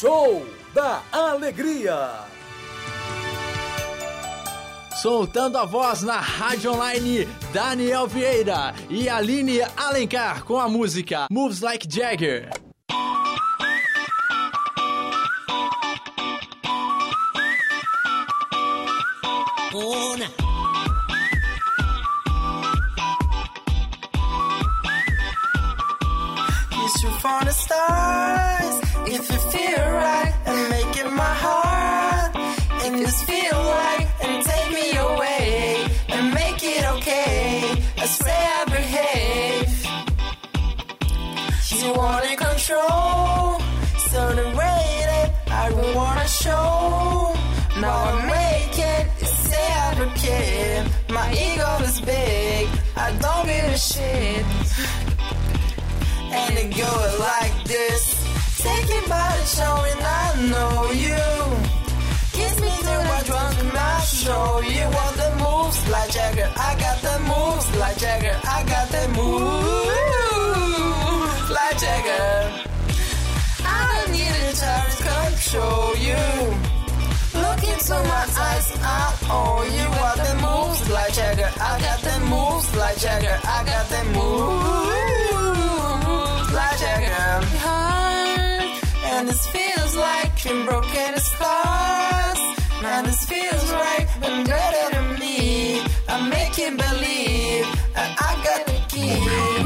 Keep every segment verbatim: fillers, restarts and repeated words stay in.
Show da Alegria. Soltando a voz na rádio online, Daniel Vieira e Aline Alencar com a música Moves Like Jagger. Una. Kiss you from the stars, if you feel right, and make it my heart. If this feel like, and take me away, and make it okay. I swear I behave. You wanna control, so the way that I would wanna show. Now I make it, say I don't care. My ego is big, I don't give a shit. And it goes like this. Take it by the show and I know you. Kiss me through my drunk and I'll show you what the moves like Jagger. I got the moves like Jagger. I got the moves like Jagger. I don't need a child to control you. Look into my eyes, I owe you what the moves like Jagger. I got the moves like Jagger. I got the moves like Jagger. Heart, and this feels like you're broken stars. And this feels right, but better than me. I make you believe that I got the key.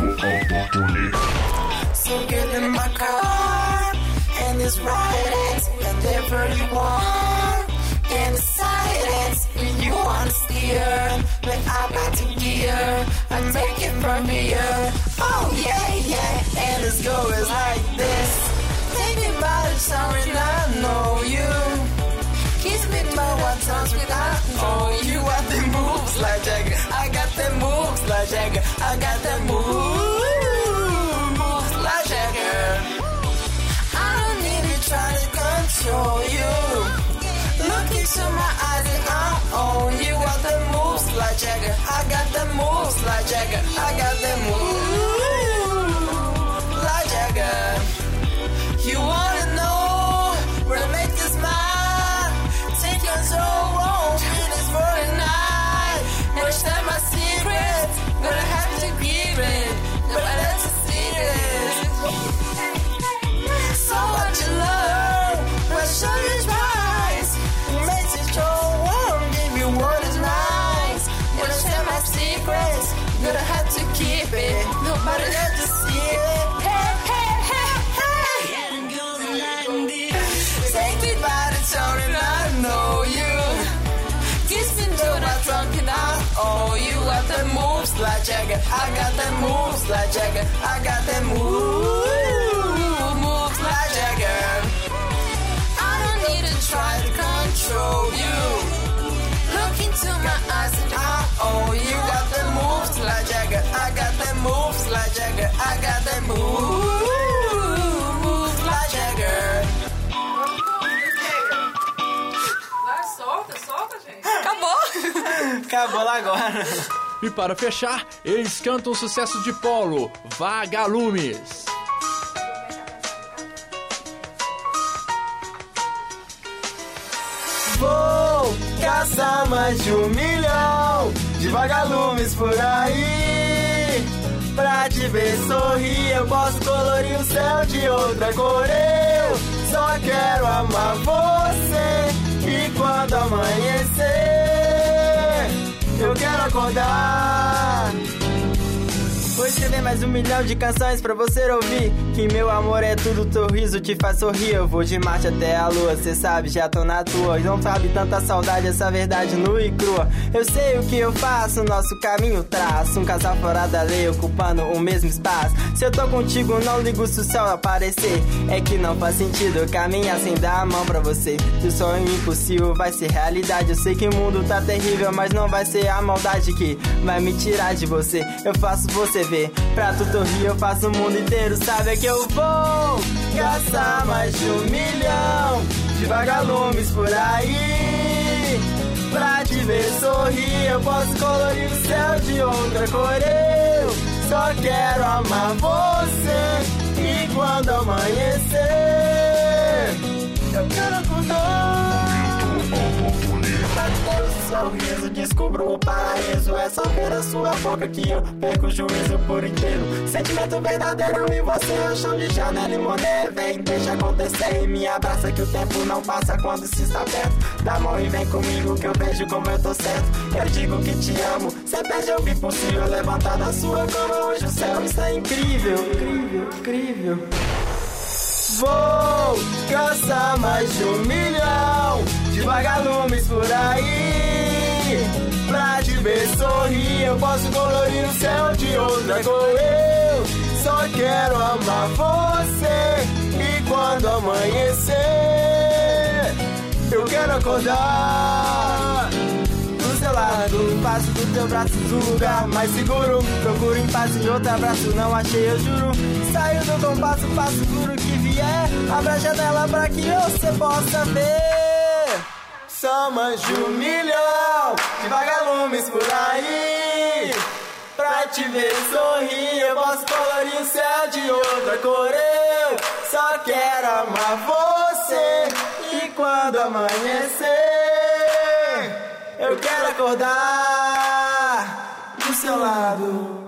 So get in my car, and it's right, whatever you want. And the silence, when you want to steer, when I'm about to gear, I take it from here. Oh yeah, yeah, and this goes like this. Take me by the summer and I know you. Kiss me by one times without know you. Got the moves like Jagger. I got the moves like Jagger. I got the moves like Jagger. I don't need to try to control you. Look into my eyes and I own you. Got the moves like Jagger. I got the moves like Jagger. I got the moves like Jagger. You wanna know where to make this mine? Take control, won't do this for the night. Never share my secrets, gonna have to give it. Nobody else to see this. So what you learn, what show you twice. Makes it show, won't give you what is nice. Never share my secrets, gonna have to keep it. Nobody else to see it. Hey, hey, hey, hey. Take me by the tongue and I know you. Kiss me through my trunk and I owe you. Got the moves like Jagger. I got the moves like Jagger. I got the moves, moves like Jagger. I don't need to try to control you. Look into my eyes and I owe you. Got the moves like Jagger. I got the moves like Jagger. I got the moves, moves like Jagger. Solta, solta, gente. Acabou. Acabou lá agora. E para fechar, eles cantam o sucesso de Polo, Vagalumes. Vou caçar mais de um milhão de vagalumes por aí. Pra te ver sorrir, eu posso colorir o céu de outra cor. Eu só quero amar você. E quando amanhecer, eu quero acordar. Vou escrever mais um milhão de canções pra você ouvir. Que meu amor é tudo, teu riso te faz sorrir. Eu vou de Marte até a lua, cê sabe, já tô na tua. Não sabe tanta saudade, essa verdade nua e crua. Eu sei o que eu faço, nosso caminho traço. Um casal fora da lei, ocupando o mesmo espaço. Se eu tô contigo, não ligo se o sol aparecer. É que não faz sentido eu caminhar sem dar a mão pra você. Se o sonho impossível vai ser realidade. Eu sei que o mundo tá terrível, mas não vai ser a maldade que vai me tirar de você. Eu faço você ver, pra tu sorrir eu faço o mundo inteiro. Sabe é que eu vou caçar mais de um milhão de vagalumes por aí. Pra te ver sorrir eu posso colorir o céu de outra cor. Eu só quero amar você. E quando amanhecer sorriso, descubro o paraíso. É só ver a sua boca que eu perco o juízo por inteiro. Sentimento verdadeiro e você é o chão de Chanel e Monet. Vem, deixa acontecer e me abraça que o tempo não passa quando se está perto. Dá a mão e vem comigo que eu vejo como eu tô certo. Eu digo que te amo, cê pede eu vi possível. Levantar da sua cama hoje o céu está incrível. Incrível, incrível. Vou caçar mais de um milhão de vagalumes por aí. Pra te ver sorrir, eu posso colorir o céu de outra cor. Eu só quero amar você. E quando amanhecer, eu quero acordar do seu lado, passo do teu braço do lugar mais seguro. Procuro em paz em outro abraço, não achei, eu juro. Saio do compasso, passo por o que vier. Abra a janela pra que você possa ver. Só mais de um milhão de vagalumes por aí. Pra te ver sorrir, eu posso colorir o céu de outra cor. Eu só quero amar você. E quando amanhecer, eu quero acordar do seu lado.